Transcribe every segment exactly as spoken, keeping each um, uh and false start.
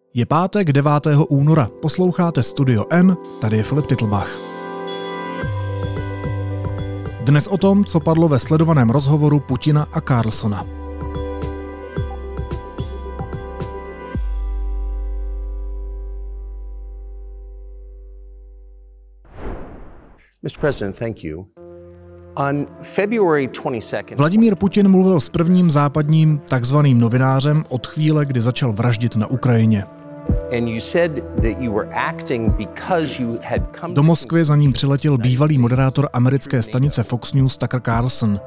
Je pátek devátého února, posloucháte Studio N, tady je Filip Titlbach. Dnes o tom, co padlo ve sledovaném rozhovoru Putina a Carlsona. mister President, thank you. On February twenty-second, Vladimír Putin mluvil s prvním západním takzvaným novinářem od chvíle, kdy začal vraždit na Ukrajině. And you said that you were acting because you had come Do Moskvy za ním přiletěl bývalý moderátor americké stanice Fox News Tucker Carlson.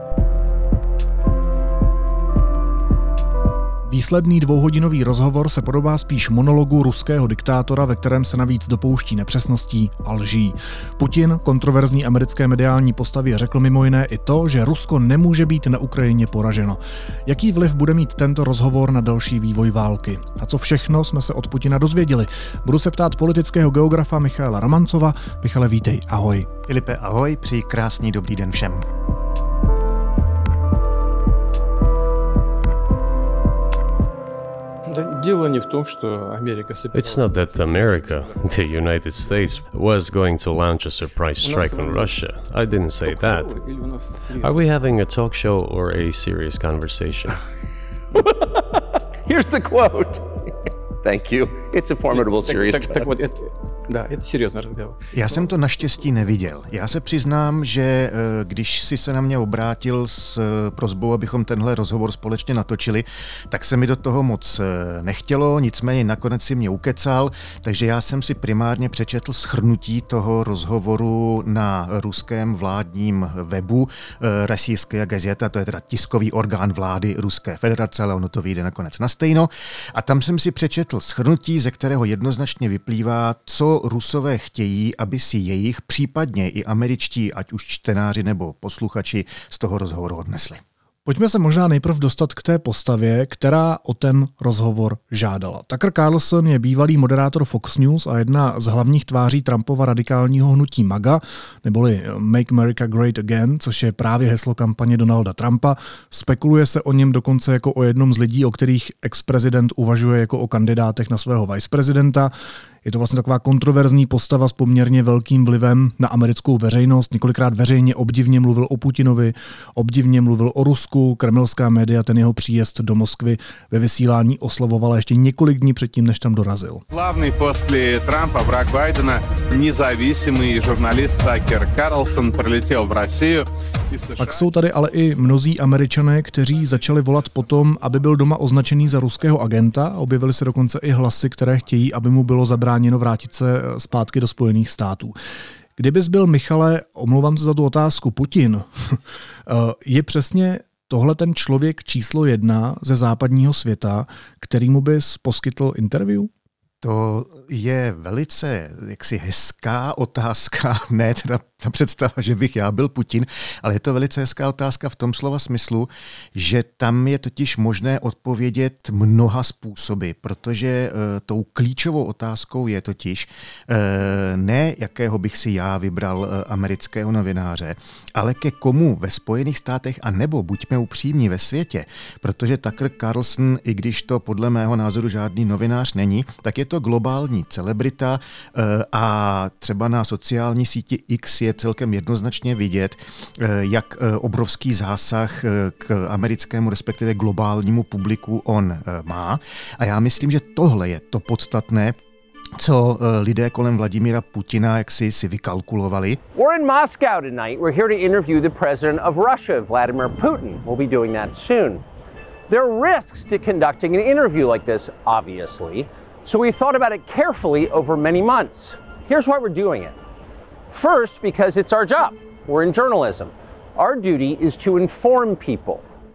Výsledný dvouhodinový rozhovor se podobá spíš monologu ruského diktátora, ve kterém se navíc dopouští nepřesností a lží. Putin kontroverzní americké mediální postavě řekl mimo jiné i to, že Rusko nemůže být na Ukrajině poraženo. Jaký vliv bude mít tento rozhovor na další vývoj války? A co všechno jsme se od Putina dozvěděli? Budu se ptát politického geografa Michaela Romancova. Michale, vítej, ahoj. Filipe, ahoj, přeji krásný dobrý den všem. It's not that America, the United States, was going to launch a surprise strike on Russia. I didn't say that. Are we having a talk show or a serious conversation? Here's the quote. Thank you. It's a formidable serious talk. Já jsem to naštěstí neviděl. Já se přiznám, že když si se na mě obrátil s prosbou, abychom tenhle rozhovor společně natočili, tak se mi do toho moc nechtělo, nicméně nakonec si mě ukecal, takže já jsem si primárně přečetl shrnutí toho rozhovoru na ruském vládním webu Rossijská gazeta, to je teda tiskový orgán vlády Ruské federace, ale ono to vyjde nakonec na stejno. A tam jsem si přečetl shrnutí, ze kterého jednoznačně vyplývá, co Rusové chtějí, aby si jejich, případně i američtí, ať už čtenáři nebo posluchači, z toho rozhovoru odnesli. Pojďme se možná nejprv dostat k té postavě, která o ten rozhovor žádala. Tucker Carlson je bývalý moderátor Fox News a jedna z hlavních tváří Trumpova radikálního hnutí MAGA, neboli Make America Great Again, což je právě heslo kampaně Donalda Trumpa. Spekuluje se o něm dokonce jako o jednom z lidí, o kterých ex-prezident uvažuje jako o kandidátech na svého viceprezidenta. Je to vlastně taková kontroverzní postava s poměrně velkým vlivem na americkou veřejnost. Několikrát veřejně obdivně mluvil o Putinovi, obdivně mluvil o Rusku. Kremelská média ten jeho příjezd do Moskvy ve vysílání oslavovala ještě několik dní předtím, než tam dorazil. Hlavní posle Trumpa vrak Bidena, nezávislý žurnalist Tucker Carlson přiletěl v Rusii. Pak jsou tady ale i mnozí Američané, kteří začali volat potom, aby byl doma označený za ruského agenta. Objevily se dokonce i hlasy, které chtějí, aby mu bylo zabráněno vrátit se zpátky do Spojených států. Kdybys byl, Michale, omlouvám se za tu otázku, Putin, je přesně tohle ten člověk číslo jedna ze západního světa, kterýmu bys poskytl interview? To je velice jaksi hezká otázka, ne teda ta představa, že bych já byl Putin, ale je to velice hezká otázka v tom slova smyslu, že tam je totiž možné odpovědět mnoha způsoby, protože e, tou klíčovou otázkou je totiž e, ne jakého bych si já vybral e, amerického novináře, ale ke komu ve Spojených státech a nebo buďme upřímní ve světě, protože Tucker Carlson, i když to podle mého názoru žádný novinář není, tak je to globální celebrita e, a třeba na sociální síti X je celkem jednoznačně vidět, jak obrovský zásah k americkému, respektive globálnímu publiku on má. A já myslím, že tohle je to podstatné, co lidé kolem Vladimíra Putina jaksi si vykalkulovali. We're in Moscow tonight. We're here to interview the president of Russia, Vladimir Putin. We'll be doing that soon. There are risks to conducting an interview like this, obviously. So we thought about it carefully over many months. Here's why we're doing it. First, because it's our job. We're in journalism. Our duty is to inform people.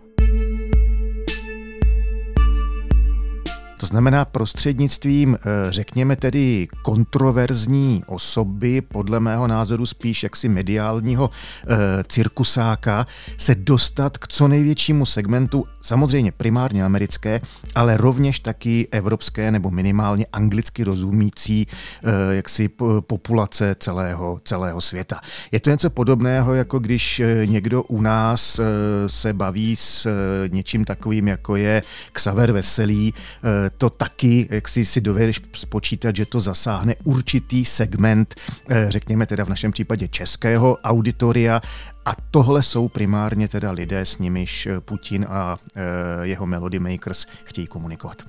To znamená prostřednictvím, řekněme tedy, kontroverzní osoby, podle mého názoru spíš jaksi mediálního e, cirkusáka, se dostat k co největšímu segmentu, samozřejmě primárně americké, ale rovněž taky evropské nebo minimálně anglicky rozumící e, jaksi populace celého, celého světa. Je to něco podobného, jako když někdo u nás e, se baví s e, něčím takovým, jako je Xaver Veselý, e, to taky, jak si, si dovedeš spočítat, že to zasáhne určitý segment, řekněme teda v našem případě českého auditoria, a tohle jsou primárně teda lidé, s nimiž Putin a jeho Melody Makers chtějí komunikovat.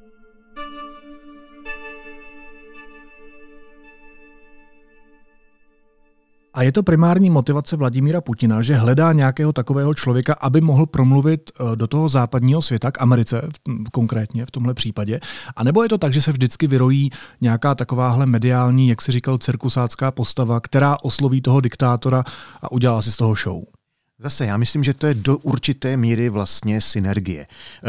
A je to primární motivace Vladimíra Putina, že hledá nějakého takového člověka, aby mohl promluvit do toho západního světa, k Americe konkrétně v tomhle případě? A nebo je to tak, že se vždycky vyrojí nějaká takováhle mediální, jak si říkal, cirkusácká postava, která osloví toho diktátora a udělá si z toho show? Zase, já myslím, že to je do určité míry vlastně synergie. E,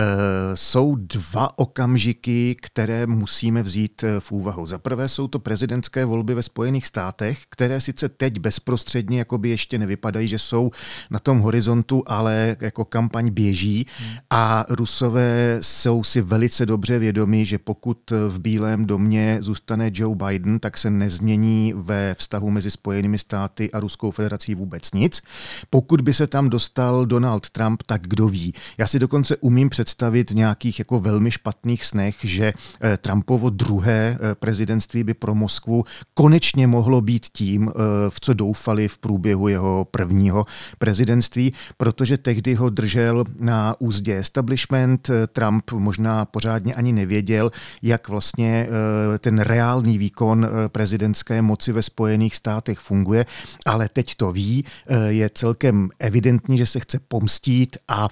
jsou dva okamžiky, které musíme vzít v úvahu. Za prvé jsou to prezidentské volby ve Spojených státech, které sice teď bezprostředně jakoby ještě nevypadají, že jsou na tom horizontu, ale jako kampaň běží a Rusové jsou si velice dobře vědomí, že pokud v Bílém domě zůstane Joe Biden, tak se nezmění ve vztahu mezi Spojenými státy a Ruskou federací vůbec nic. Pokud by se tam dostal Donald Trump, tak kdo ví. Já si dokonce umím představit v nějakých jako velmi špatných snech, že Trumpovo druhé prezidentství by pro Moskvu konečně mohlo být tím, v co doufali v průběhu jeho prvního prezidentství, protože tehdy ho držel na úzdě establishment. Trump možná pořádně ani nevěděl, jak vlastně ten reálný výkon prezidentské moci ve Spojených státech funguje, ale teď to ví, je celkem evidentní, že se chce pomstít a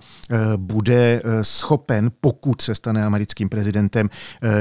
bude schopen, pokud se stane americkým prezidentem,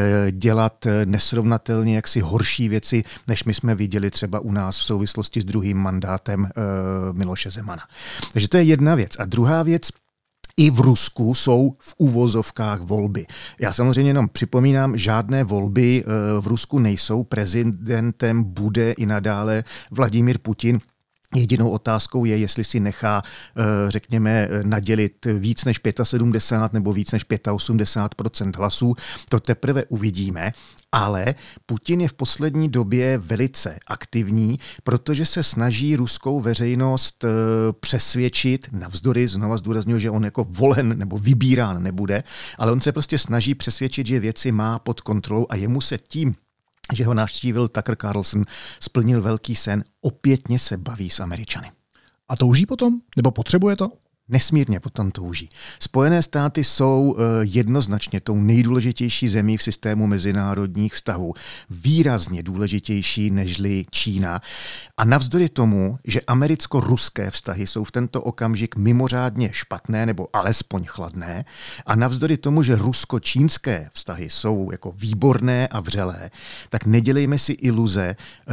dělat nesrovnatelně jaksi horší věci, než my jsme viděli třeba u nás v souvislosti s druhým mandátem Miloše Zemana. Takže to je jedna věc. A druhá věc, i v Rusku jsou v uvozovkách volby. Já samozřejmě jenom připomínám, žádné volby v Rusku nejsou. Prezidentem bude i nadále Vladimír Putin. Jedinou otázkou je, jestli si nechá, řekněme, nadělit víc než sedmdesát pět nebo víc než osmdesát pět procent hlasů. To teprve uvidíme, ale Putin je v poslední době velice aktivní, protože se snaží ruskou veřejnost přesvědčit, navzdory, znova zdůrazňuji, že on jako volen nebo vybírán nebude, ale on se prostě snaží přesvědčit, že věci má pod kontrolou a jemu se tím, že ho navštívil Tucker Carlson, splnil velký sen, opětně se baví s Američany. A touží potom? Nebo potřebuje to? Nesmírně potom touží. Spojené státy jsou jednoznačně tou nejdůležitější zemí v systému mezinárodních vztahů. Výrazně důležitější nežli Čína. A navzdory tomu, že americko-ruské vztahy jsou v tento okamžik mimořádně špatné nebo alespoň chladné, a navzdory tomu, že rusko-čínské vztahy jsou jako výborné a vřelé, tak nedělejme si iluze.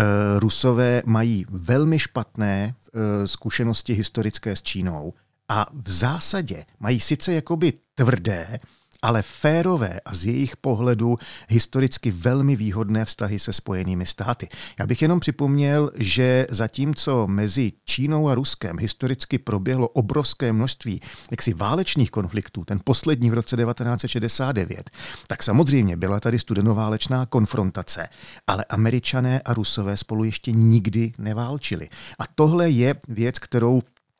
Rusové mají velmi špatné zkušenosti historické s Čínou. A v zásadě mají sice jakoby tvrdé, ale férové a z jejich pohledu historicky velmi výhodné vztahy se Spojenými státy. Já bych jenom připomněl, že zatímco mezi Čínou a Ruskem historicky proběhlo obrovské množství jaksi válečných konfliktů, ten poslední v roce devatenáct set šedesát devět, tak samozřejmě byla tady studenoválečná konfrontace, ale Američané a Rusové spolu ještě nikdy neválčili. A tohle je věc, kterou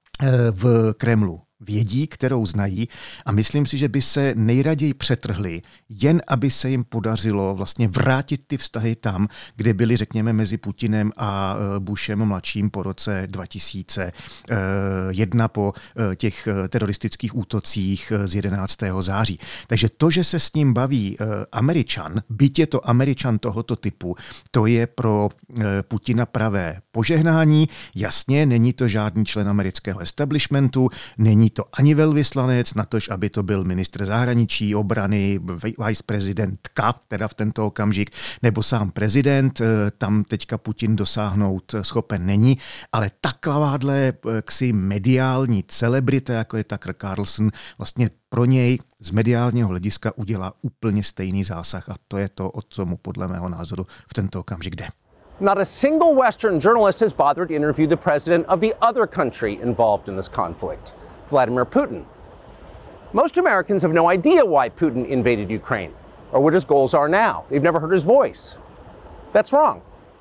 v Kremlu vědí, kterou znají a myslím si, že by se nejraději přetrhli, jen aby se jim podařilo vlastně vrátit ty vztahy tam, kde byly, řekněme, mezi Putinem a Bushem mladším po roce dva tisíce jedna po těch teroristických útocích z jedenáctého září. Takže to, že se s ním baví Američan, byť je to Američan tohoto typu, to je pro Putina pravé požehnání. Jasně, není to žádný člen amerického establishmentu, není to ani velvyslanec, natož aby to byl ministr zahraničí, obrany, viceprezidentka, teda v tento okamžik, nebo sám prezident, tam teďka Putin dosáhnout schopen není, ale takováhle ksi mediální celebrita, jako je Tucker Carlson, vlastně pro něj z mediálního hlediska udělá úplně stejný zásah a to je to, o co mu podle mého názoru v tento okamžik jde. Not a single Western journalist has bothered to interview the president of the other country involved in this conflict, Vladimir Putin. Most Americans have no idea why Putin invaded Ukraine or what his goals are now. They've never heard his voice. That's wrong.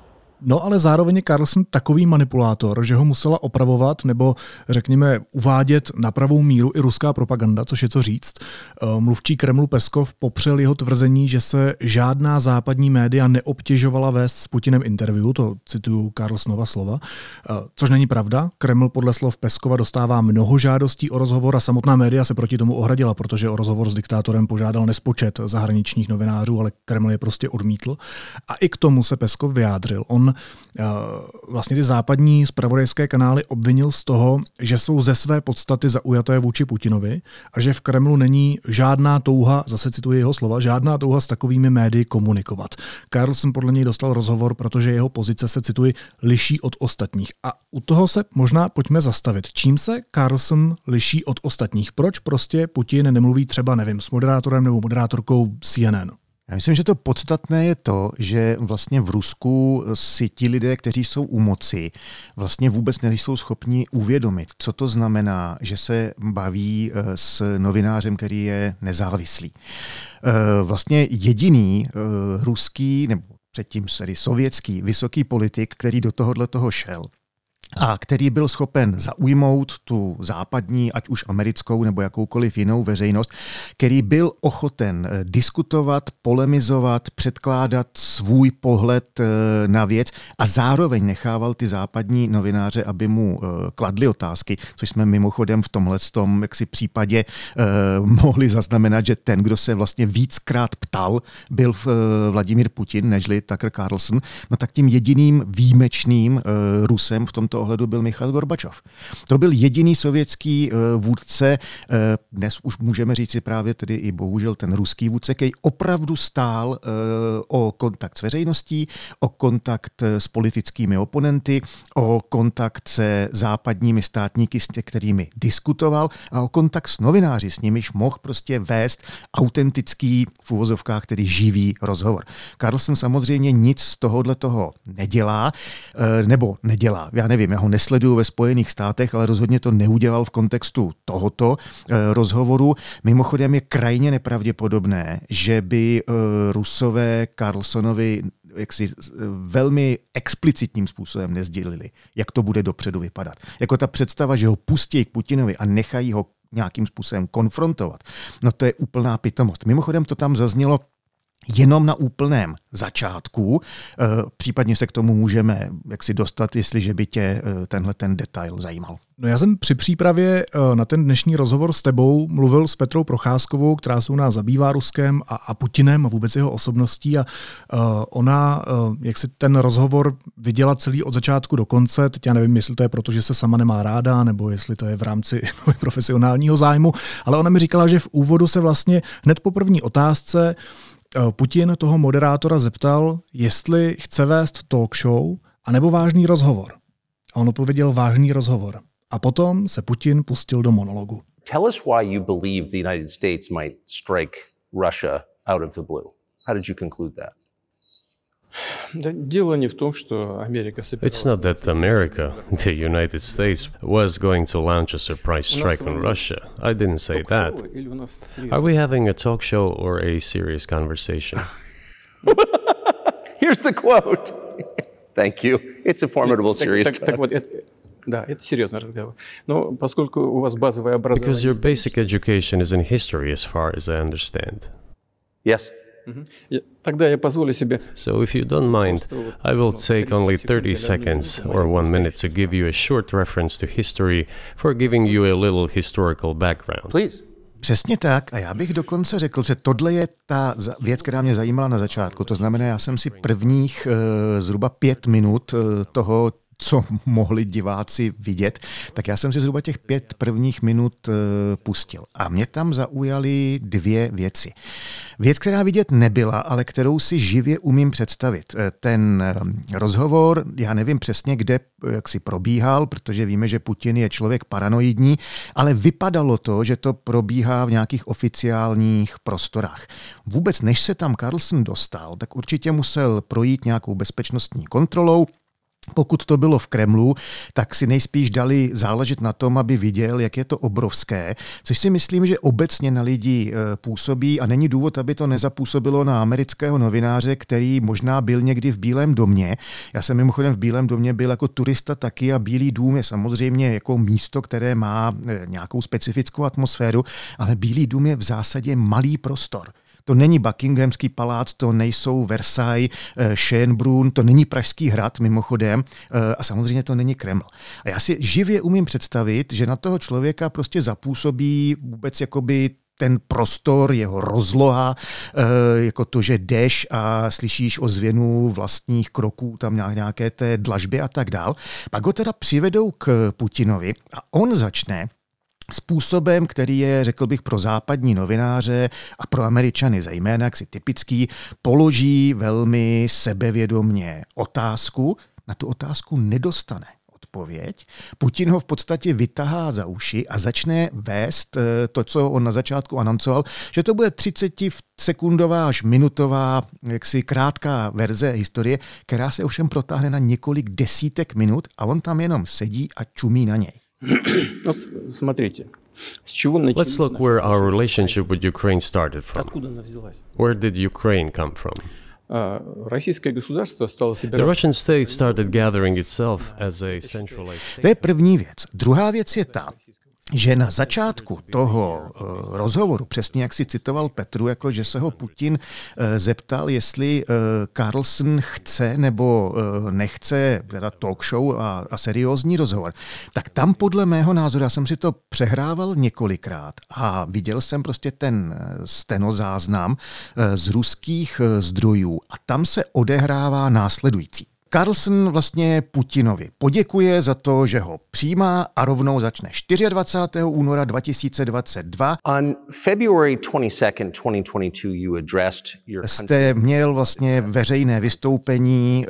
No ale zároveň je Carlson takový manipulátor, že ho musela opravovat nebo řekněme uvádět na pravou míru i ruská propaganda, což je co říct. Mluvčí Kremlu Peskov popřel jeho tvrzení, že se žádná západní média neobtěžovala vést s Putinem interview, to cituju Carlsonova slova, což není pravda. Kreml podle slov Peskova dostává mnoho žádostí o rozhovor a samotná média se proti tomu ohradila, protože o rozhovor s diktátorem požádal nespočet zahraničních novinářů, ale Kreml je prostě odmítl. A i k tomu se Peskov vyjádřil. On vlastně ty západní zpravodajské kanály obvinil z toho, že jsou ze své podstaty zaujaté vůči Putinovi a že v Kremlu není žádná touha, zase cituji jeho slova, žádná touha s takovými médii komunikovat. Carlson podle něj dostal rozhovor, protože jeho pozice se, cituji, liší od ostatních. A u toho se možná pojďme zastavit. Čím se Carlson liší od ostatních? Proč prostě Putin nemluví třeba, nevím, s moderátorem nebo moderátorkou C N N? Já myslím, že to podstatné je to, že vlastně v Rusku si ti lidé, kteří jsou u moci, vlastně vůbec nejsou schopni uvědomit, co to znamená, že se baví s novinářem, který je nezávislý. Vlastně jediný ruský, nebo předtím tedy sovětský vysoký politik, který do tohohle toho šel, a který byl schopen zaujmout tu západní, ať už americkou nebo jakoukoliv jinou veřejnost, který byl ochoten diskutovat, polemizovat, předkládat svůj pohled na věc a zároveň nechával ty západní novináře, aby mu kladli otázky, což jsme mimochodem v tomhletom jaksi případě eh, mohli zaznamenat, že ten, kdo se vlastně víckrát ptal, byl Vladimír Putin, nežli Tucker Carlson, no tak tím jediným výjimečným eh, Rusem v tomto ohledu byl Michail Gorbačov. To byl jediný sovětský vůdce, dnes už můžeme říct si právě tedy i bohužel ten ruský vůdce, který opravdu stál o kontakt s veřejností, o kontakt s politickými oponenty, o kontakt se západními státníky, s kterými diskutoval a o kontakt s novináři, s nimiž mohl prostě vést autentický, v uvozovkách tedy živý rozhovor. Carlson samozřejmě nic z tohohle toho nedělá, nebo nedělá, já nevím, já ho nesleduju ve Spojených státech, ale rozhodně to neudělal v kontextu tohoto e, rozhovoru. Mimochodem je krajně nepravděpodobné, že by e, Rusové Carlsonovi jaksi velmi explicitním způsobem nezdělili, jak to bude dopředu vypadat. Jako ta představa, že ho pustí k Putinovi a nechají ho nějakým způsobem konfrontovat, no to je úplná pitomost. Mimochodem to tam zaznělo jenom na úplném začátku, případně se k tomu můžeme jaksi dostat, jestliže by tě tenhle ten detail zajímal. No já jsem při přípravě na ten dnešní rozhovor s tebou mluvil s Petrou Procházkovou, která se u nás zabývá Ruskem a, a Putinem a vůbec jeho osobností a uh, ona, uh, jak si ten rozhovor viděla celý od začátku do konce, teď já nevím, jestli to je proto, že se sama nemá ráda, nebo jestli to je v rámci profesionálního zájmu, ale ona mi říkala, že v úvodu se vlastně hned po první otázce Putin toho moderátora zeptal, jestli chce vést talk show anebo vážný rozhovor. A on odpověděl vážný rozhovor. A potom se Putin pustil do monologu. Tell us why you believe the United States might strike Russia out of the blue. How did you conclude that? It's not that America, the United States, was going to launch a surprise strike on Russia. I didn't say that. Are we having a talk show or a serious conversation? Here's the quote. Thank you. It's a formidable serious talk. Да, это серьезный разговор. Но поскольку у вас базовое образование... Because your basic education is in history, as far as I understand. Yes. Тогда я позволю себе... So if you don't mind, I will take only thirty seconds or one minute to give you a short reference to history for giving you a little historical background. Please. Přesně tak a já bych dokonce řekl, že tohle je ta věc, která mě zajímala na začátku. To znamená, já jsem si prvních uh, zhruba pět minut uh, toho, co mohli diváci vidět, tak já jsem si zhruba těch pět prvních minut uh, pustil. A mě tam zaujaly dvě věci. Věc, která vidět nebyla, ale kterou si živě umím představit. Ten rozhovor, já nevím přesně, kde jak si probíhal, protože víme, že Putin je člověk paranoidní, ale vypadalo to, že to probíhá v nějakých oficiálních prostorách. Vůbec než se tam Carlson dostal, tak určitě musel projít nějakou bezpečnostní kontrolou. pokud to bylo v Kremlu, tak si nejspíš dali záležet na tom, aby viděl, jak je to obrovské, což si myslím, že obecně na lidi působí a není důvod, aby to nezapůsobilo na amerického novináře, který možná byl někdy v Bílém domě. Já jsem mimochodem v Bílém domě byl jako turista taky a Bílý dům je samozřejmě jako místo, které má nějakou specifickou atmosféru, ale Bílý dům je v zásadě malý prostor. To není Buckinghamský palác, to nejsou Versailles, Schönbrunn, to není Pražský hrad mimochodem a samozřejmě to není Kreml. A já si živě umím představit, že na toho člověka prostě zapůsobí vůbec jakoby ten prostor, jeho rozloha, jako to, že jdeš a slyšíš ozvěnu vlastních kroků, tam nějaké té dlažby a tak dál. Pak ho teda přivedou k Putinovi a on začne způsobem, který je, řekl bych, pro západní novináře a pro Američany zejména, jak si typický, položí velmi sebevědomně otázku, na tu otázku nedostane odpověď. Putin ho v podstatě vytahá za uši a začne vést to, co on na začátku anoncoval, že to bude třicetisekundová až minutová, jaksi krátká verze historie, která se ovšem protáhne na několik desítek minut a on tam jenom sedí a čumí na něj. Let's look where our relationship with Ukraine started from. Where did Ukraine come from? The Russian state started gathering itself as a centralized state. To je první věc. Druhá věc je ta, že na začátku toho uh, rozhovoru, přesně jak si citoval Petru, jako že se ho Putin uh, zeptal, jestli uh, Carlson chce nebo uh, nechce teda talk show a, a seriózní rozhovor, tak tam podle mého názoru, já jsem si to přehrával několikrát a viděl jsem prostě ten stenozáznam uh, z ruských uh, zdrojů a tam se odehrává následující. Carlson vlastně Putinovi poděkuje za to, že ho přijímá a rovnou začne dvacátého čtvrtého února dva tisíce dvacet dva. On February twenty-second, twenty twenty-two, you addressed your country. Jste měl vlastně veřejné vystoupení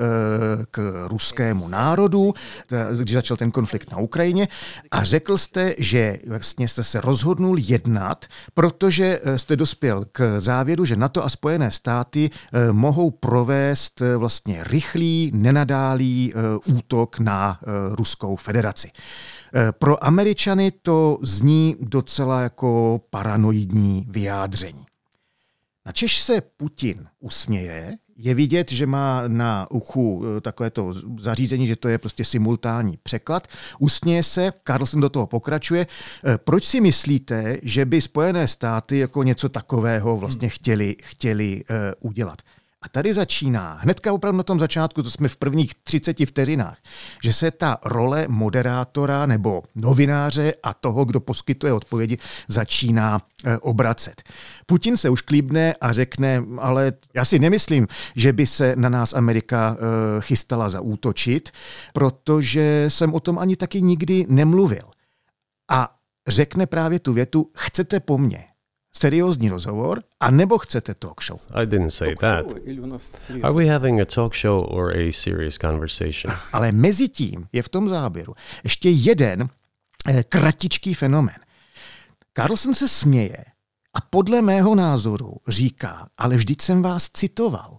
k ruskému národu, když začal ten konflikt na Ukrajině a řekl jste, že vlastně jste se rozhodnul jednat, protože jste dospěl k závěru, že NATO a Spojené státy mohou provést vlastně rychlý, nenadálý uh, útok na uh, Ruskou federaci. Uh, pro Američany to zní docela jako paranoidní vyjádření. Načež se Putin usměje, je vidět, že má na uchu uh, takovéto zařízení, že to je prostě simultánní překlad. Usměje se, Carlson do toho pokračuje. Uh, proč si myslíte, že by Spojené státy jako něco takového vlastně chtěli, chtěli uh, udělat? A tady začíná, hnedka opravdu na tom začátku, to jsme v prvních třiceti vteřinách, že se ta role moderátora nebo novináře a toho, kdo poskytuje odpovědi, začíná e, obracet. Putin se už klíbne a řekne, ale já si nemyslím, že by se na nás Amerika e, chystala zaútočit, protože jsem o tom ani taky nikdy nemluvil. A řekne právě tu větu, chcete po mně seriózní rozhovor, a nebo chcete talk show? I didn't say that. Are we having a talk show or a serious conversation? Ale mezi tím je v tom záběru ještě jeden eh, kratičký fenomén. Carlson se směje a podle mého názoru říká, ale vždyť jsem vás citoval.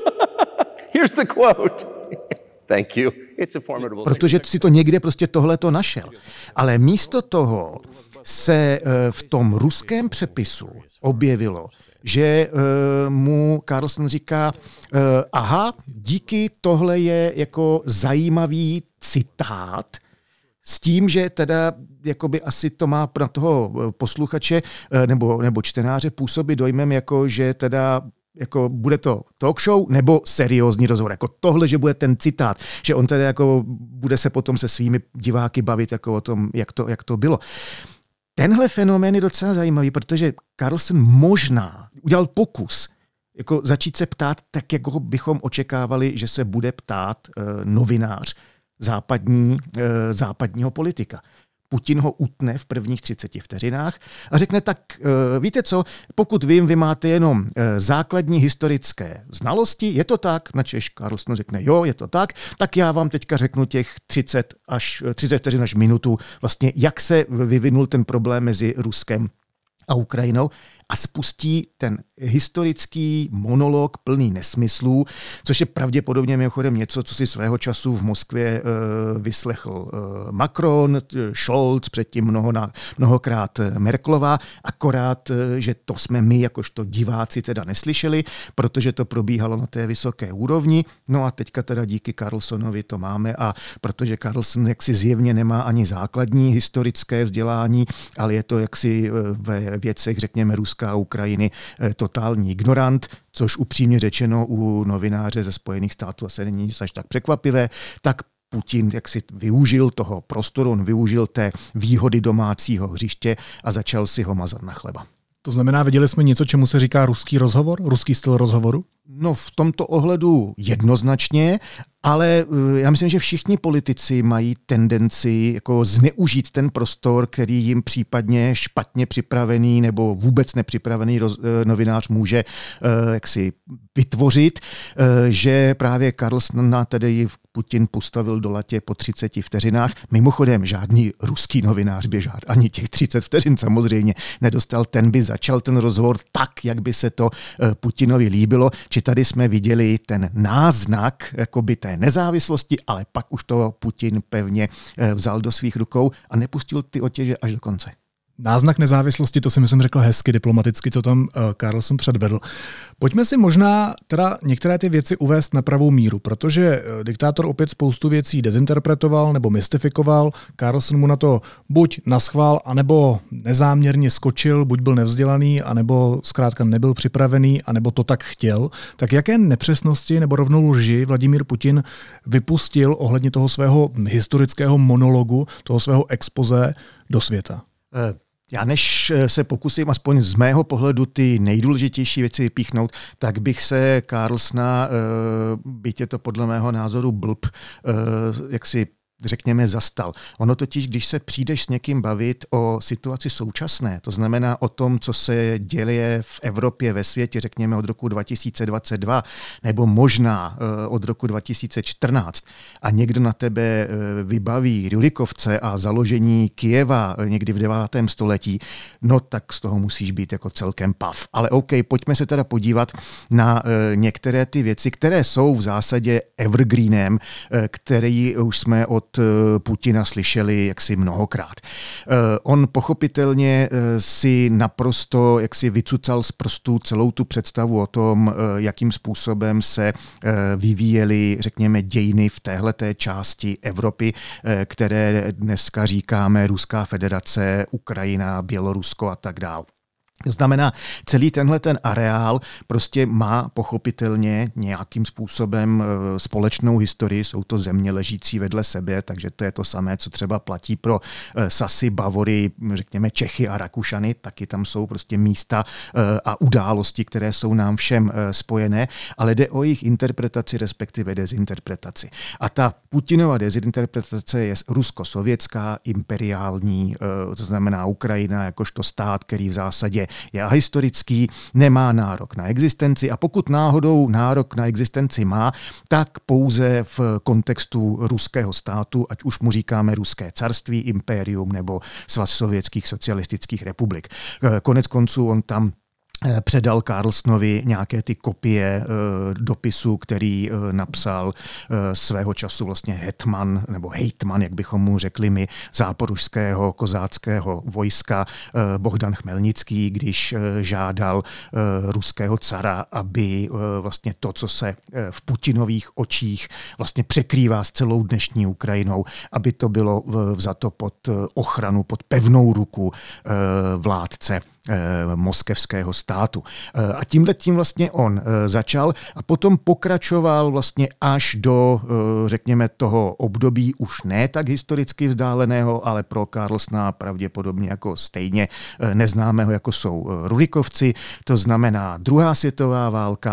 Here's the quote. Thank you. It's a formidable. Protože si to někde prostě tohleto našel. Ale místo toho se v tom ruském přepisu objevilo, že mu Carlson říká, aha, díky, tohle je jako zajímavý citát, s tím, že teda jakoby asi to má pro toho posluchače nebo, nebo čtenáře působit dojmem, jako že teda jako bude to talk show nebo seriózní rozhovor. Jako tohle, že bude ten citát, že on teda jako bude se potom se svými diváky bavit jako o tom, jak to, jak to bylo. Tenhle fenomén je docela zajímavý, protože Carlson možná udělal pokus jako začít se ptát tak, jako bychom očekávali, že se bude ptát e, novinář západní, e, západního politika. Putin ho utne v prvních třiceti vteřinách a řekne tak, e, víte co, pokud vím, vy máte jenom e, základní historické znalosti, je to tak, načež Carlson řekne, jo, je to tak, tak já vám teďka řeknu těch třicet až třicet vteřin až minutu, vlastně jak se vyvinul ten problém mezi Ruskem a Ukrajinou. a spustí ten historický monolog plný nesmyslů, což je pravděpodobně mimochodem něco, co si svého času v Moskvě uh, vyslechl uh, Macron, Scholz, předtím mnoho na, mnohokrát Merkelová, akorát, uh, že to jsme my jakožto diváci teda neslyšeli, protože to probíhalo na té vysoké úrovni. No a teďka teda díky Carlsonovi to máme a protože Carlson jaksi zjevně nemá ani základní historické vzdělání, ale je to jaksi ve věcech, řekněme, Ruska a Ukrajiny totální ignorant, což upřímně řečeno u novináře ze Spojených států asi není nic až tak překvapivé, tak Putin jak si využil toho prostoru, on využil té výhody domácího hřiště a začal si ho mazat na chleba. To znamená, viděli jsme něco, čemu se říká ruský rozhovor, ruský styl rozhovoru? No v tomto ohledu jednoznačně, ale já myslím, že všichni politici mají tendenci jako zneužít ten prostor, který jim případně špatně připravený nebo vůbec nepřipravený roz, novinář může uh, jaksi vytvořit, uh, že právě Carlsona tedy Putin postavil do latě po třiceti vteřinách. Mimochodem, žádný ruský novinář by žád, ani těch třicet vteřin samozřejmě nedostal, ten by začal ten rozhovor tak, jak by se to uh, Putinovi líbilo, či tady jsme viděli ten náznak jakoby té nezávislosti, ale pak už to Putin pevně vzal do svých rukou a nepustil ty otěže až do konce. Náznak nezávislosti, to si myslím řekl hezky diplomaticky, co tam uh, Carlson předvedl. Pojďme si možná teda některé ty věci uvést na pravou míru, protože uh, diktátor opět spoustu věcí dezinterpretoval nebo mystifikoval. Carlson mu na to buď naschvál, anebo nezáměrně skočil, buď byl nevzdělaný, anebo zkrátka nebyl připravený, anebo to tak chtěl. Tak jaké nepřesnosti nebo rovnou lži Vladimír Putin vypustil ohledně toho svého historického monologu, toho svého expoze do světa? Já než se pokusím aspoň z mého pohledu ty nejdůležitější věci vypíchnout, tak bych se Carlsona, byť je to podle mého názoru blb, jak si řekněme, zastal. Ono totiž, když se přijdeš s někým bavit o situaci současné, to znamená o tom, co se děje v Evropě, ve světě, řekněme od roku dva tisíce dvacet dva, nebo možná od roku dva tisíce čtrnáct, a někdo na tebe vybaví Rurikovce a založení Kyjeva někdy v devátém století, no tak z toho musíš být jako celkem pav. Ale OK, pojďme se teda podívat na některé ty věci, které jsou v zásadě evergreenem, který už jsme od Putina slyšeli jaksi mnohokrát. On pochopitelně si naprosto jaksi vycucal z prstů celou tu představu o tom, jakým způsobem se vyvíjely, řekněme, dějiny v téhleté části Evropy, které dneska říkáme Ruská federace, Ukrajina, Bělorusko a tak dále. To znamená, celý tenhle ten areál prostě má pochopitelně nějakým způsobem společnou historii, jsou to země ležící vedle sebe, takže to je to samé, co třeba platí pro Sasy, Bavory, řekněme Čechy a Rakušany, taky tam jsou prostě místa a události, které jsou nám všem spojené, ale jde o jejich interpretaci, respektive dezinterpretaci. A ta Putinova dezinterpretace je rusko-sovětská, imperiální, to znamená Ukrajina jakožto stát, který v zásadě je ahistorický, nemá nárok na existenci a pokud náhodou nárok na existenci má, tak pouze v kontextu ruského státu, ať už mu říkáme ruské carství, impérium nebo svaz sovětských socialistických republik. Konec konců on tam předal Carlsonovi nějaké ty kopie e, dopisu, který e, napsal e, svého času vlastně hetman, nebo hejtman, jak bychom mu řekli my, záporožského kozáckého vojska e, Bohdan Chmelnický, když e, žádal e, ruského cara, aby e, vlastně to, co se e, v Putinových očích vlastně překrývá s celou dnešní Ukrajinou, aby to bylo vzato pod ochranu, pod pevnou ruku e, vládce moskevského státu. A tímhle tím vlastně on začal a potom pokračoval vlastně až do, řekněme, toho období už ne tak historicky vzdáleného, ale pro Carlsona pravděpodobně jako stejně neznámého, jako jsou Rurikovci, to znamená druhá světová válka a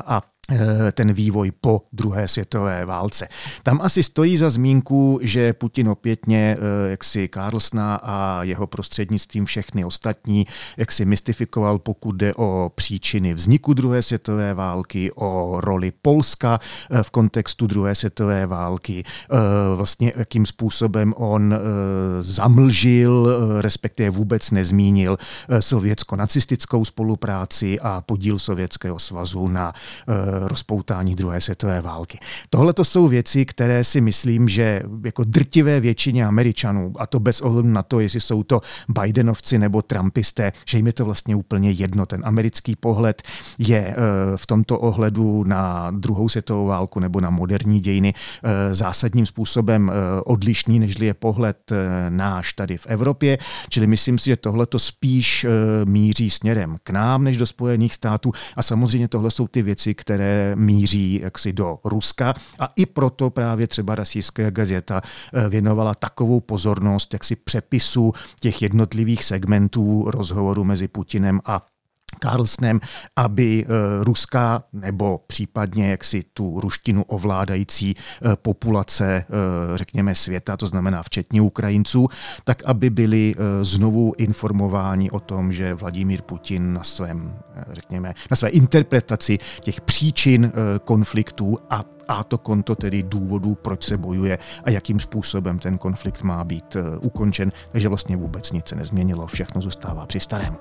ten vývoj po druhé světové válce. Tam asi stojí za zmínku, že Putin opětně jaksi Carlsona a jeho prostřednictvím všechny ostatní jaksi mystifikoval, pokud jde o příčiny vzniku druhé světové války, o roli Polska v kontextu druhé světové války, vlastně jakým způsobem on zamlžil, respektive vůbec nezmínil sovětsko-nacistickou spolupráci a podíl Sovětského svazu na rozpoutání druhé světové války. Tohle to jsou věci, které si myslím, že jako drtivé většině Američanů, a to bez ohledu na to, jestli jsou to Bidenovci nebo Trumpisté, že jim je to vlastně úplně jedno. Ten americký pohled je v tomto ohledu na druhou světovou válku nebo na moderní dějiny zásadním způsobem odlišný, nežli je pohled náš tady v Evropě. Čili myslím si, že tohle to spíš míří směrem k nám, než do Spojených států. A samozřejmě tohle jsou ty věci, které míří jaksi do Ruska a i proto právě třeba Rossijská gazeta věnovala takovou pozornost jaksi přepisu těch jednotlivých segmentů rozhovoru mezi Putinem a Carlsonem, aby ruská nebo případně jaksi tu ruštinu ovládající populace, řekněme, světa, to znamená včetně Ukrajinců, tak aby byli znovu informováni o tom, že Vladimír Putin na svém, řekněme, na své interpretaci těch příčin konfliktů a a to konto tedy důvodů, proč se bojuje a jakým způsobem ten konflikt má být ukončen. Takže vlastně vůbec nic se nezměnilo, všechno zůstává při starém.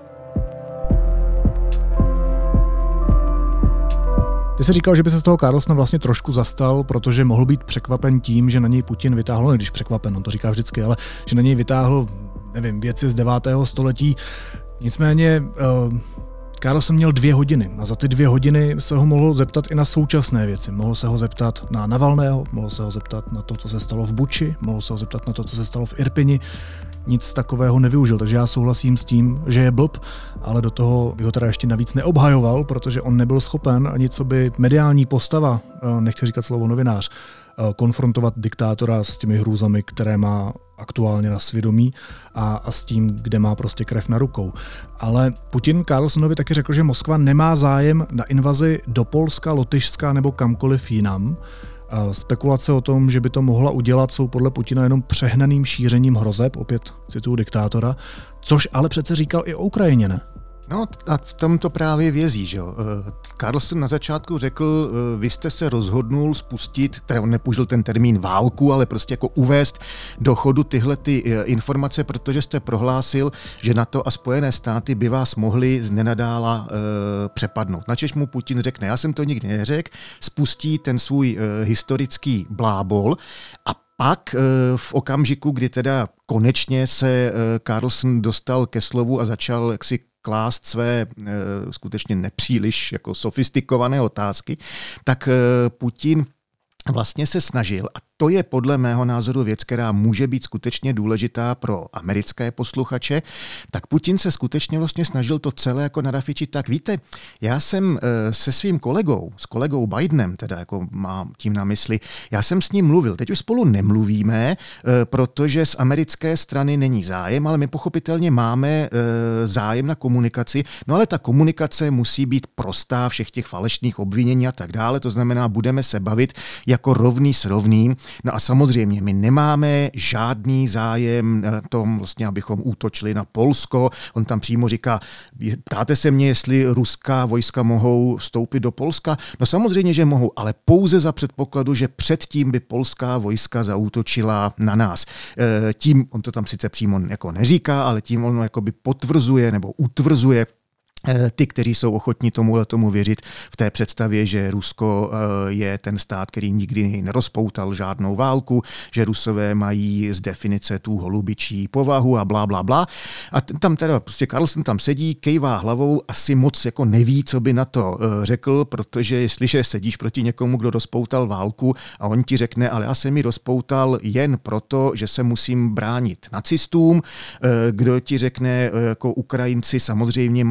Ty jsi říkal, že by se z toho Carlsona vlastně trošku zastal, protože mohl být překvapen tím, že na něj Putin vytáhl, ne když překvapen, on to říká vždycky, ale že na něj vytáhl, nevím, věci z devátého století. Nicméně uh, Carlson měl dvě hodiny a za ty dvě hodiny se ho mohl zeptat i na současné věci. Mohl se ho zeptat na Navalného, mohl se ho zeptat na to, co se stalo v Buči, mohl se ho zeptat na to, co se stalo v Irpini. Nic takového nevyužil, takže já souhlasím s tím, že je blb, ale do toho bych ho teda ještě navíc neobhajoval, protože on nebyl schopen ani co by mediální postava, nechci říkat slovo novinář, konfrontovat diktátora s těmi hrůzami, které má aktuálně na svědomí a, a s tím, kde má prostě krev na rukou. Ale Putin Carlsonovi taky řekl, že Moskva nemá zájem na invazi do Polska, Lotyšska nebo kamkoliv jinam. Spekulace o tom, že by to mohla udělat, jsou podle Putina jenom přehnaným šířením hrozeb, opět cituju diktátora, což ale přece říkal i o Ukrajině, ne? No a v tom to právě vězí, že jo. Carlson na začátku řekl, vy jste se rozhodnul spustit, teda on nepoužil ten termín válku, ale prostě jako uvést do chodu tyhle ty informace, protože jste prohlásil, že NATO a Spojené státy by vás mohli z nenadála e, přepadnout. Načež mu Putin řekne, já jsem to nikdy neřekl, spustí ten svůj e, historický blábol a pak v okamžiku, kdy teda konečně se Carlson dostal ke slovu a začal jaksi klást své skutečně nepříliš jako sofistikované otázky, tak Putin vlastně se snažil, a to je podle mého názoru věc, která může být skutečně důležitá pro americké posluchače, tak Putin se skutečně vlastně snažil to celé jako narafičit. Tak víte, já jsem se svým kolegou, s kolegou Bidenem, teda jako mám tím na mysli, já jsem s ním mluvil. Teď už spolu nemluvíme, protože z americké strany není zájem, ale my pochopitelně máme zájem na komunikaci, no ale ta komunikace musí být prostá, všech těch falešných obvinění a tak dále, to znamená, budeme se bavit jako rovný s rovným. No a samozřejmě my nemáme žádný zájem na tom, vlastně, abychom útočili na Polsko. On tam přímo říká, ptáte se mě, jestli ruská vojska mohou vstoupit do Polska? No samozřejmě, že mohou, ale pouze za předpokladu, že předtím by polská vojska zaútočila na nás. Tím, on to tam sice přímo jako neříká, ale tím on jakoby potvrzuje nebo utvrzuje ty, kteří jsou ochotní tomu tomu věřit v té představě, že Rusko je ten stát, který nikdy nerozpoutal žádnou válku, že Rusové mají z definice tu holubičí povahu a blá, blá, blá. A tam teda prostě Carlson tam sedí, kejvá hlavou, asi moc jako neví, co by na to řekl, protože jestliže sedíš proti někomu, kdo rozpoutal válku a on ti řekne, ale já jsem ji rozpoutal jen proto, že se musím bránit nacistům, kdo ti řekne, jako Ukrajinci samozřejmě mají tak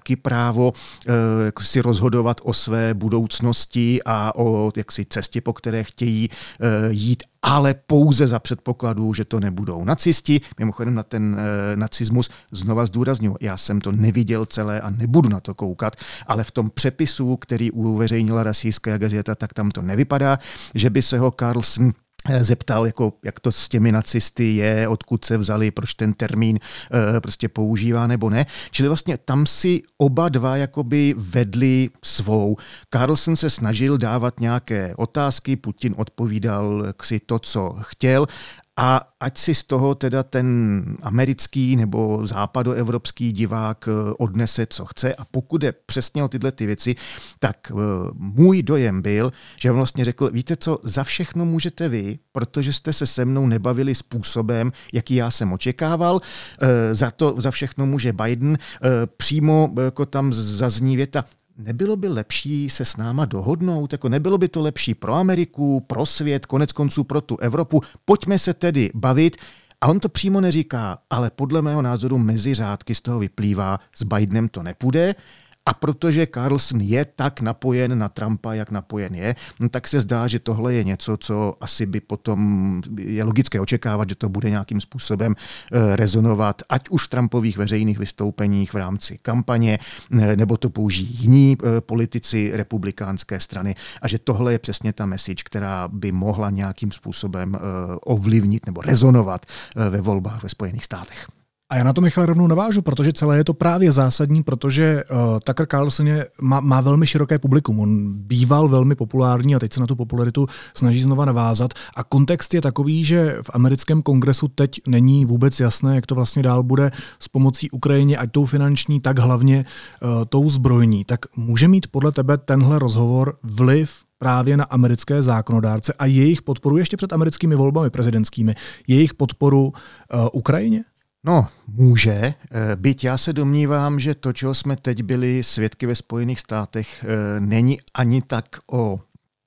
taky právo uh, si rozhodovat o své budoucnosti a o jaksi cestě, po které chtějí uh, jít, ale pouze za předpokladu, že to nebudou nacisti. Mimochodem na ten e, nacismus znova zdůrazňuji, já jsem to neviděl celé a nebudu na to koukat, ale v tom přepisu, který uveřejnila Rasijská gazeta, tak tam to nevypadá, že by se ho Carlson zeptal, jako, jak to s těmi nacisty je, odkud se vzali, proč ten termín e, prostě používá nebo ne. Čili vlastně tam si oba dva jakoby vedli svou. Carlson se snažil dávat nějaké otázky, Putin odpovídal si to, co chtěl, a ať si z toho teda ten americký nebo západoevropský divák odnese, co chce. A pokud je přesně o tyhle ty věci, tak můj dojem byl, že on vlastně řekl, víte co, za všechno můžete vy, protože jste se se mnou nebavili způsobem, jaký já jsem očekával. Za to za všechno může Biden. Přímo jako tam zazní věta, nebylo by lepší se s náma dohodnout? Jako nebylo by to lepší pro Ameriku, pro svět, konec konců pro tu Evropu? Pojďme se tedy bavit. A on to přímo neříká, ale podle mého názoru mezi řádky z toho vyplývá, s Bidenem to nepůjde. A protože Carlson je tak napojen na Trumpa, jak napojen je, no tak se zdá, že tohle je něco, co asi by potom je logické očekávat, že to bude nějakým způsobem rezonovat, ať už v Trumpových veřejných vystoupeních v rámci kampaně, nebo to použijí jiní politici republikánské strany. A že tohle je přesně ta message, která by mohla nějakým způsobem ovlivnit nebo rezonovat ve volbách ve Spojených státech. A já na to, Michale, rovnou navážu, protože celé je to právě zásadní, protože uh, Tucker Carlson je, má, má velmi široké publikum. On býval velmi populární a teď se na tu popularitu snaží znova navázat. A kontext je takový, že v americkém kongresu teď není vůbec jasné, jak to vlastně dál bude s pomocí Ukrajině, ať tou finanční, tak hlavně uh, tou zbrojní. Tak může mít podle tebe tenhle rozhovor vliv právě na americké zákonodárce a jejich podporu ještě před americkými volbami prezidentskými, jejich podporu uh, Ukrajině? No, může, byť já se domnívám, že to, čeho jsme teď byli svědky ve Spojených státech, není ani tak o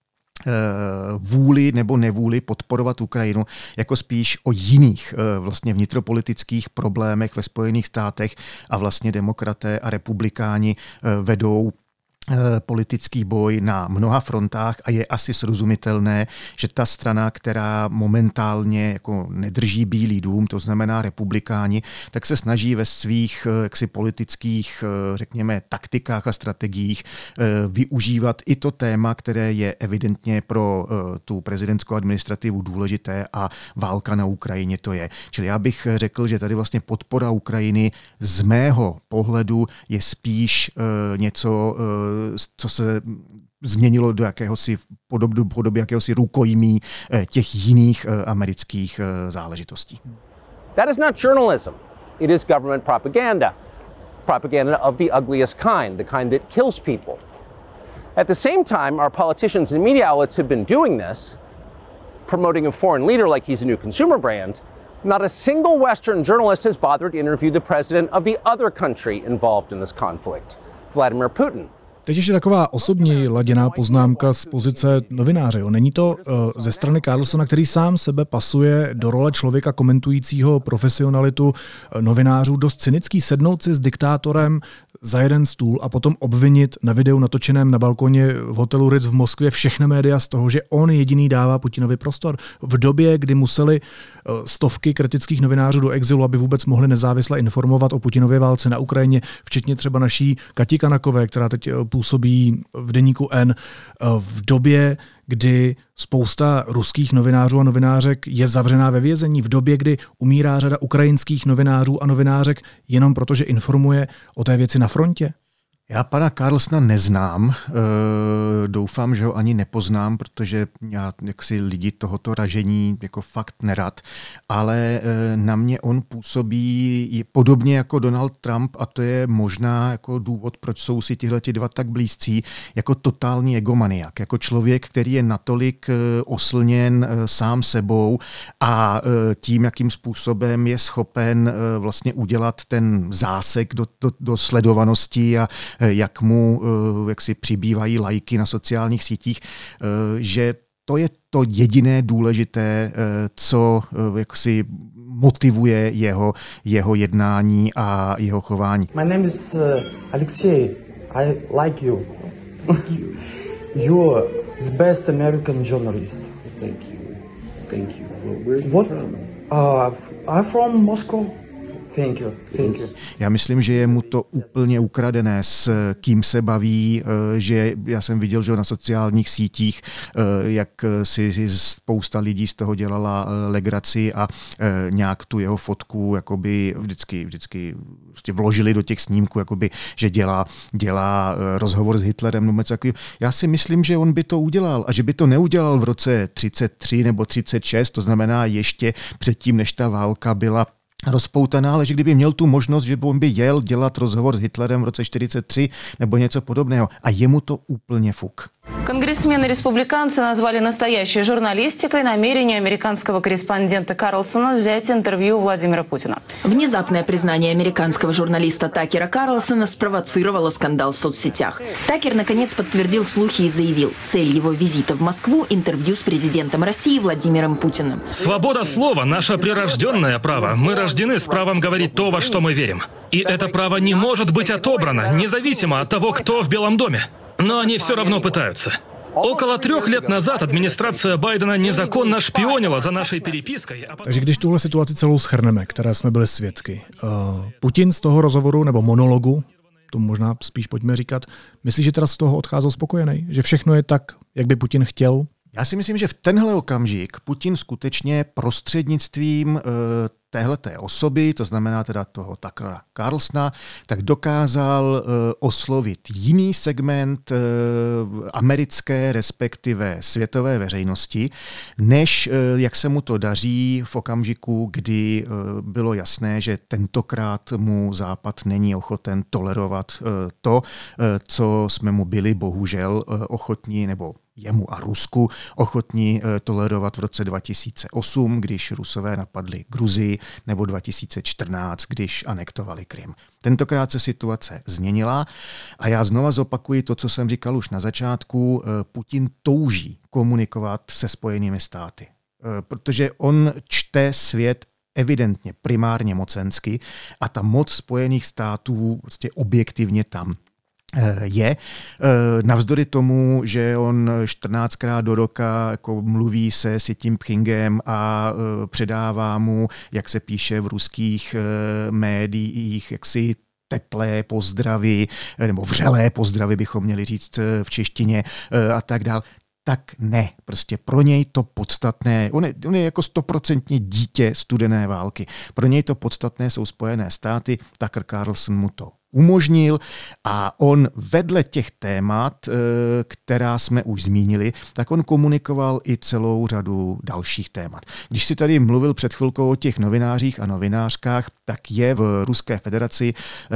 vůli nebo nevůli podporovat Ukrajinu, jako spíš o jiných vlastně vnitropolitických problémech ve Spojených státech a vlastně demokraté a republikáni vedou politický boj na mnoha frontách a je asi srozumitelné, že ta strana, která momentálně jako nedrží Bílý dům, to znamená republikáni, tak se snaží ve svých jaksi politických, řekněme, taktikách a strategiích využívat i to téma, které je evidentně pro tu prezidentskou administrativu důležité a válka na Ukrajině to je. Čili já bych řekl, že tady vlastně podpora Ukrajiny z mého pohledu je spíš něco, co se změnilo do jakéhosi podoby, podoby jakéhosi rukojmí těch jiných amerických záležitostí. That is not journalism. It is government propaganda. Propaganda of the ugliest kind, the kind that kills people. At the same time, our politicians and media outlets have been doing this, promoting a foreign leader like he's a new consumer brand. Not a single Western journalist has bothered to interview the president of the other country involved in this conflict, Vladimir Putin. Teď ještě taková osobní laděná poznámka z pozice novináře. Není to uh, ze strany Carlsona, který sám sebe pasuje do role člověka komentujícího profesionalitu uh, novinářů, dost cynický sednout si s diktátorem za jeden stůl a potom obvinit na videu natočeném na balkoně v hotelu Ritz v Moskvě všechny média z toho, že on jediný dává Putinovi prostor. V době, kdy museli uh, stovky kritických novinářů do exilu, aby vůbec mohli nezávisle informovat o Putinově válce na Ukrajině, včetně třeba naší Kati Kanakové, která teď uh, působí v deníku N, v době, kdy spousta ruských novinářů a novinářek je zavřená ve vězení, v době, kdy umírá řada ukrajinských novinářů a novinářek jenom proto, že informuje o té věci na frontě? Já pana Carlsona neznám, e, doufám, že ho ani nepoznám, protože já jaksi lidi tohoto ražení jako fakt nerad, ale e, na mě on působí podobně jako Donald Trump a to je možná jako důvod, proč jsou si tihleti dva tak blízcí, jako totální egomaniak, jako člověk, který je natolik e, oslněn e, sám sebou a e, tím, jakým způsobem je schopen e, vlastně udělat ten zásek do, do, do sledovanosti a jak mu jak si přibývají lajky na sociálních sítích, že to je to jediné důležité, co jaksi motivuje jeho, jeho jednání a jeho chování. My name is uh, Alexei. I like you. You're the best American journalist. Thank you. Thank you. Well, where are you What? from? Uh, I'm from Moscow. Thank you. Thank you. Já myslím, že je mu to úplně ukradené, s kým se baví, že já jsem viděl, že na sociálních sítích, jak si spousta lidí z toho dělala legraci a nějak tu jeho fotku jakoby vždycky, vždycky vložili do těch snímků, jakoby, že dělá, dělá rozhovor s Hitlerem. Nebo takový. Já si myslím, že on by to udělal a že by to neudělal v roce třicet tři nebo třicet šest, to znamená ještě předtím, než ta válka byla rozpoutaná, ale že kdyby měl tu možnost, že by on by jel dělat rozhovor s Hitlerem v roce čtyřicet tři nebo něco podobného a jemu to úplně fuk. Конгрессмены-республиканцы назвали настоящей журналистикой намерение американского корреспондента Карлсона взять интервью у Владимира Путина. Внезапное признание американского журналиста Такера Карлсона спровоцировало скандал в соцсетях. Такер, наконец, подтвердил слухи и заявил, цель его визита в Москву – интервью с президентом России Владимиром Путиным. Свобода слова – наше прирожденное право. Мы рождены с правом говорить то, во что мы верим. И это право не может быть отобрано, независимо от того, кто в Белом доме. Но они все равно пытаются. Около трех лет назад администрация Байдена незаконно шпионила за нашей перепиской. A... Takže když tuhle situaci celou shrneme, které jsme byli svědky, uh, Putin z toho rozhovoru nebo monologu, to možná spíš pojďme říkat, myslíš, že teda z toho odcházel spokojený? Že všechno je tak, jak by Putin chtěl? Já si myslím, že v tenhle okamžik Putin skutečně prostřednictvím uh, téhleté osoby, to znamená teda toho Tuckera Carlsona, tak dokázal uh, oslovit jiný segment uh, americké, respektive světové veřejnosti, než uh, jak se mu to daří v okamžiku, kdy uh, bylo jasné, že tentokrát mu Západ není ochoten tolerovat uh, to, uh, co jsme mu byli bohužel uh, ochotní, nebo jemu a Rusku ochotní tolerovat v roce dva tisíce osm, když Rusové napadli Gruzii, nebo dva tisíce čtrnáct, když anektovali Krym. Tentokrát se situace změnila a já znova zopakuji to, co jsem říkal už na začátku. Putin touží komunikovat se Spojenými státy, protože on čte svět evidentně primárně mocensky a ta moc Spojených států vlastně objektivně tam je. Navzdory tomu, že on čtrnáctkrát do roka jako mluví se Xi Jinpingem a předává mu, jak se píše v ruských médiích, jaksi teplé pozdravy, nebo vřelé pozdravy bychom měli říct v češtině a tak dál. Tak ne, prostě pro něj to podstatné, on je, on je jako stoprocentně dítě studené války, pro něj to podstatné jsou Spojené státy, Tucker Carlson mu to umožnil a on vedle těch témat, která jsme už zmínili, tak on komunikoval i celou řadu dalších témat. Když si tady mluvil před chvilkou o těch novinářích a novinářkách, tak je v Ruské federaci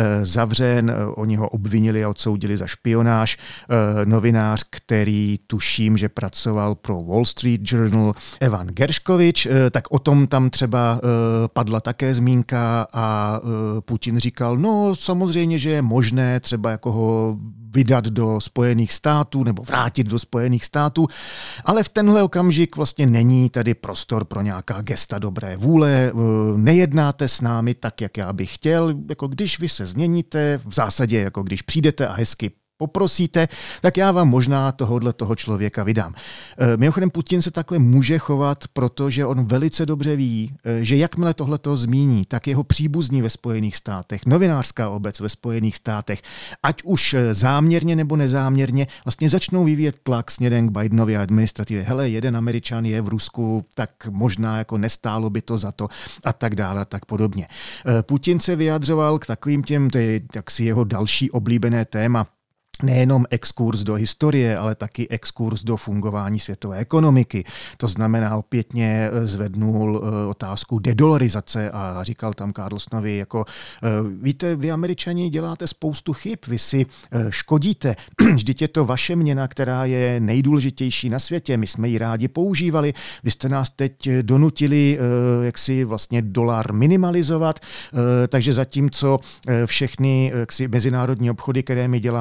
zavřen, oni ho obvinili a odsoudili za špionáž, novinář, který tuším, že pracoval pro Wall Street Journal, Evan Gershkovich, tak o tom tam třeba padla také zmínka a Putin říkal, no samozřejmě, že je možné třeba jako ho vydat do Spojených států nebo vrátit do Spojených států, ale v tenhle okamžik vlastně není tady prostor pro nějaká gesta dobré vůle, nejednáte s námi tak, jak já bych chtěl, jako když vy se změníte, v zásadě jako když přijdete a hezky poprosíte, tak já vám možná tohohle toho člověka vydám. Mimochodem Putin se takhle může chovat, protože on velice dobře ví, že jakmile tohleto zmíní, tak jeho příbuzní ve Spojených státech, novinářská obec ve Spojených státech, ať už záměrně nebo nezáměrně, vlastně začnou vyvíjet tlak směrem k Bidenově administrativě. Hele, jeden Američan je v Rusku, tak možná jako nestálo by to za to a tak dále a tak podobně. Putin se vyjadřoval k takovým těm, to je jaksi jeho další oblíbené téma, nejenom exkurs do historie, ale taky exkurs do fungování světové ekonomiky. To znamená, opětně zvednul otázku dedolarizace a říkal tam Carlsonovi, jako víte, vy Američani děláte spoustu chyb, vy si škodíte. Vždyť je to vaše měna, která je nejdůležitější na světě. My jsme ji rádi používali. Vy jste nás teď donutili, jak si vlastně dolar minimalizovat, takže zatímco všechny jaksi mezinárodní obchody, které my děláme v dolaru,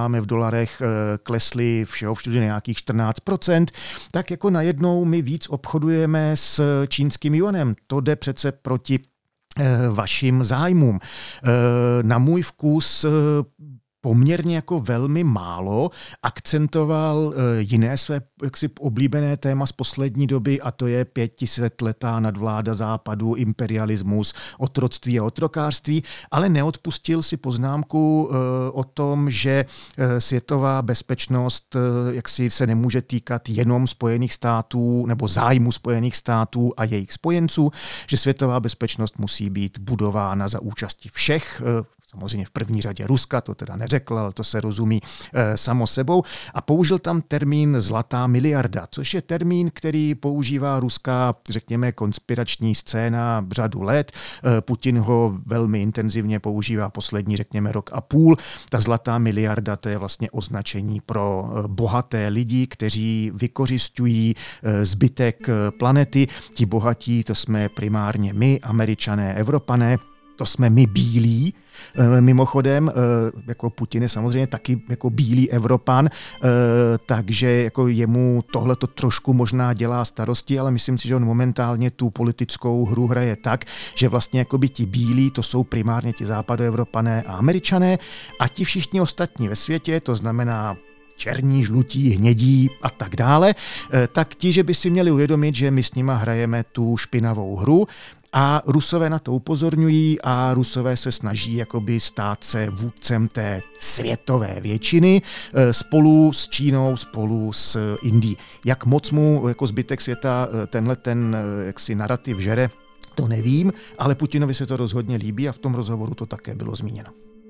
dolarech klesly všeho všude nějakých čtrnáct procent, tak jako najednou my víc obchodujeme s čínským juanem. To jde přece proti vašim zájmům. Na můj vkus poměrně jako velmi málo akcentoval jiné své jaksi oblíbené téma z poslední doby, a to je pětisetletá nadvláda západu, imperialismus, otroctví a otrokářství, ale neodpustil si poznámku o tom, že světová bezpečnost jaksi se nemůže týkat jenom Spojených států nebo zájmu Spojených států a jejich spojenců, že světová bezpečnost musí být budována za účasti všech, samozřejmě v první řadě Ruska, to teda neřekl, ale to se rozumí e, samo sebou. A použil tam termín zlatá miliarda, což je termín, který používá ruská, řekněme, konspirační scéna řadu let. E, Putin ho velmi intenzivně používá poslední, řekněme, rok a půl. Ta zlatá miliarda, to je vlastně označení pro bohaté lidi, kteří vykořisťují e, zbytek planety. Ti bohatí, to jsme primárně my, Američané, Evropané. To jsme my bílí, mimochodem, jako Putin je samozřejmě taky jako bílý Evropan, takže jako jemu tohle to trošku možná dělá starosti, ale myslím si, že on momentálně tu politickou hru hraje tak, že vlastně jakoby ti bílí, to jsou primárně ti západoevropané a Američané, a ti všichni ostatní ve světě, to znamená černí, žlutí, hnědí a tak dále, tak ti, že by si měli uvědomit, že my s nima hrajeme tu špinavou hru. A Rusové na to upozorňují a Rusové se snaží jakoby stát se vůdcem té světové většiny spolu s Čínou, spolu s Indií. Jak moc mu jako zbytek světa tenhle ten jaksi narrativ žere, to nevím, ale Putinovi se to rozhodně líbí a v tom rozhovoru to také bylo zmíněno.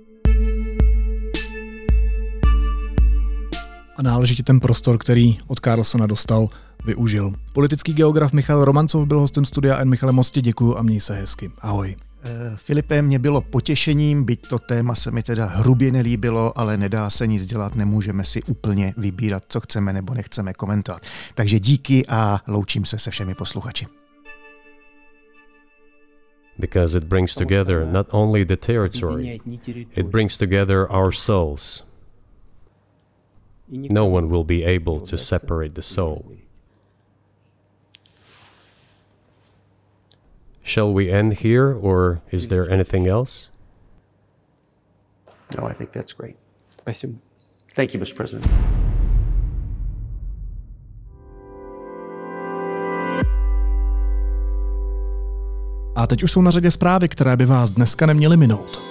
A náležitě ten prostor, který od Carlsona dostal, využil. Politický geograf Michal Romancov byl hostem studia N. Michale, moc ti děkuju a měj se hezky. Ahoj. Filipe, mě bylo potěšením, byť to téma se mi teda hrubě nelíbilo, ale nedá se nic dělat, nemůžeme si úplně vybírat, co chceme nebo nechceme komentovat. Takže díky a loučím se se všemi posluchači. Because it brings together not only the territory, it brings together our souls. No one will be able to separate the soul. Shall we end here, or is there anything else? No, I think that's great. Спасибо. Thank you, mister President. A teď už jsou na řadě zprávy, které by vás dneska neměly minout.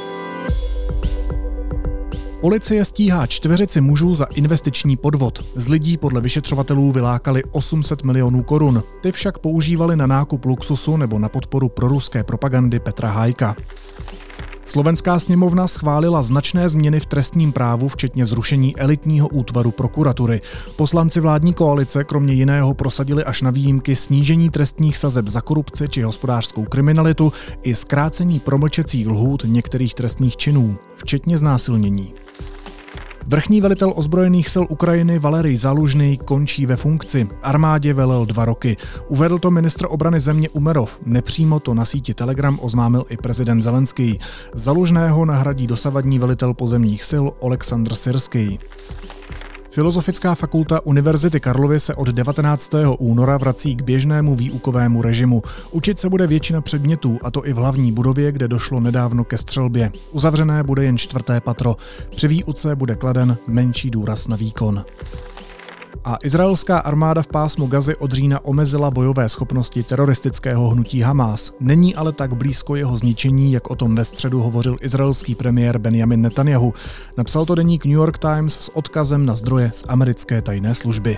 Policie stíhá čtveřici mužů za investiční podvod. Z lidí podle vyšetřovatelů vylákali osm set milionů korun. Ty však používali na nákup luxusu nebo na podporu proruské propagandy Petra Hájka. Slovenská sněmovna schválila značné změny v trestním právu, včetně zrušení elitního útvaru prokuratury. Poslanci vládní koalice kromě jiného prosadili až na výjimky snížení trestních sazeb za korupci či hospodářskou kriminalitu i zkrácení promlčecích lhůt některých trestných činů, včetně znásilnění. Vrchní velitel ozbrojených sil Ukrajiny Valerij Zalužný končí ve funkci. Armádě velel dva roky. Uvedl to ministr obrany země Umerov. Nepřímo to na síti Telegram oznámil i prezident Zelenský. Zalužného nahradí dosavadní velitel pozemních sil Oleksandr Syrský. Filozofická fakulta Univerzity Karlovy se od devatenáctého února vrací k běžnému výukovému režimu. Učit se bude většina předmětů, a to i v hlavní budově, kde došlo nedávno ke střelbě. Uzavřené bude jen čtvrté patro. Při výuce bude kladen menší důraz na výkon. A izraelská armáda v pásmu Gazy od října omezila bojové schopnosti teroristického hnutí Hamás. Není ale tak blízko jeho zničení, jak o tom ve středu hovořil izraelský premiér Benjamin Netanyahu. Napsal to deník New York Times s odkazem na zdroje z americké tajné služby.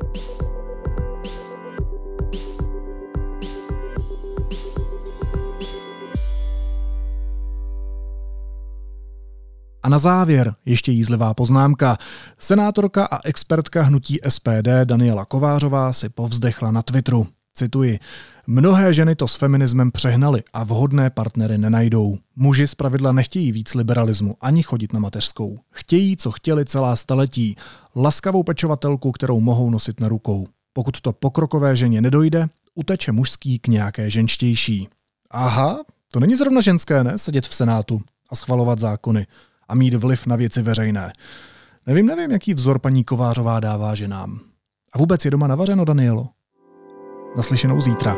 A na závěr ještě jízlivá poznámka. Senátorka a expertka hnutí S P D Daniela Kovářová si povzdechla na Twitteru. Cituji. Mnohé ženy to s feminismem přehnaly a vhodné partnery nenajdou. Muži zpravidla nechtějí víc liberalismu ani chodit na mateřskou. Chtějí, co chtěli celá staletí. Laskavou pečovatelku, kterou mohou nosit na rukou. Pokud to pokrokové ženě nedojde, uteče mužský k nějaké ženštější. Aha, to není zrovna ženské, ne? Sedět v Senátu a schvalovat zákony a mít vliv na věci veřejné. Nevím, nevím, jaký vzor paní Kovářová dává ženám. A vůbec je doma navařeno, Danielo? Naslyšenou zítra.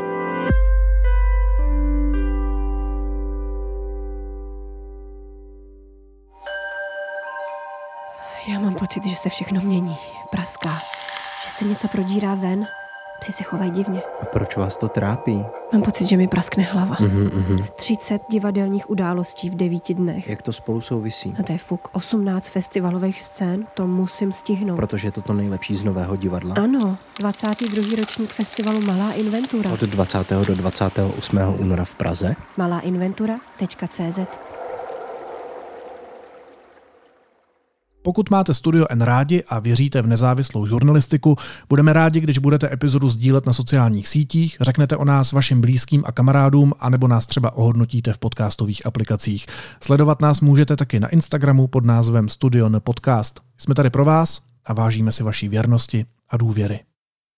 Já mám pocit, že se všechno mění, praská, že se něco prodírá ven, psi se chovají divně. A proč vás to trápí? Mám pocit, že mi praskne hlava. Mm-hmm, mm-hmm. třicet divadelních událostí v devíti dnech. Jak to spolu souvisí? A to je fuk. osmnáct festivalových scén, to musím stihnout. Protože je to to nejlepší z Nového divadla? Ano, dvacátý druhý ročník festivalu Malá inventura. Od dvacátého do dvacátého osmého února v Praze? malá inventura tečka cé zet. Pokud máte Studio N rádi a věříte v nezávislou žurnalistiku, budeme rádi, když budete epizodu sdílet na sociálních sítích, řeknete o nás vašim blízkým a kamarádům, anebo nás třeba ohodnotíte v podcastových aplikacích. Sledovat nás můžete taky na Instagramu pod názvem Studio N Podcast. Jsme tady pro vás a vážíme si vaší věrnosti a důvěry.